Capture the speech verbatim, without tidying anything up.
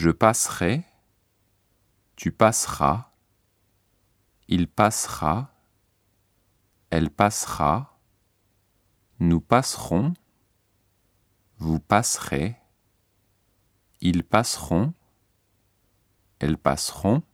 Je passerai, tu passeras, il passera, elle passera, nous passerons, vous passerez, ils passeront, elles passeront,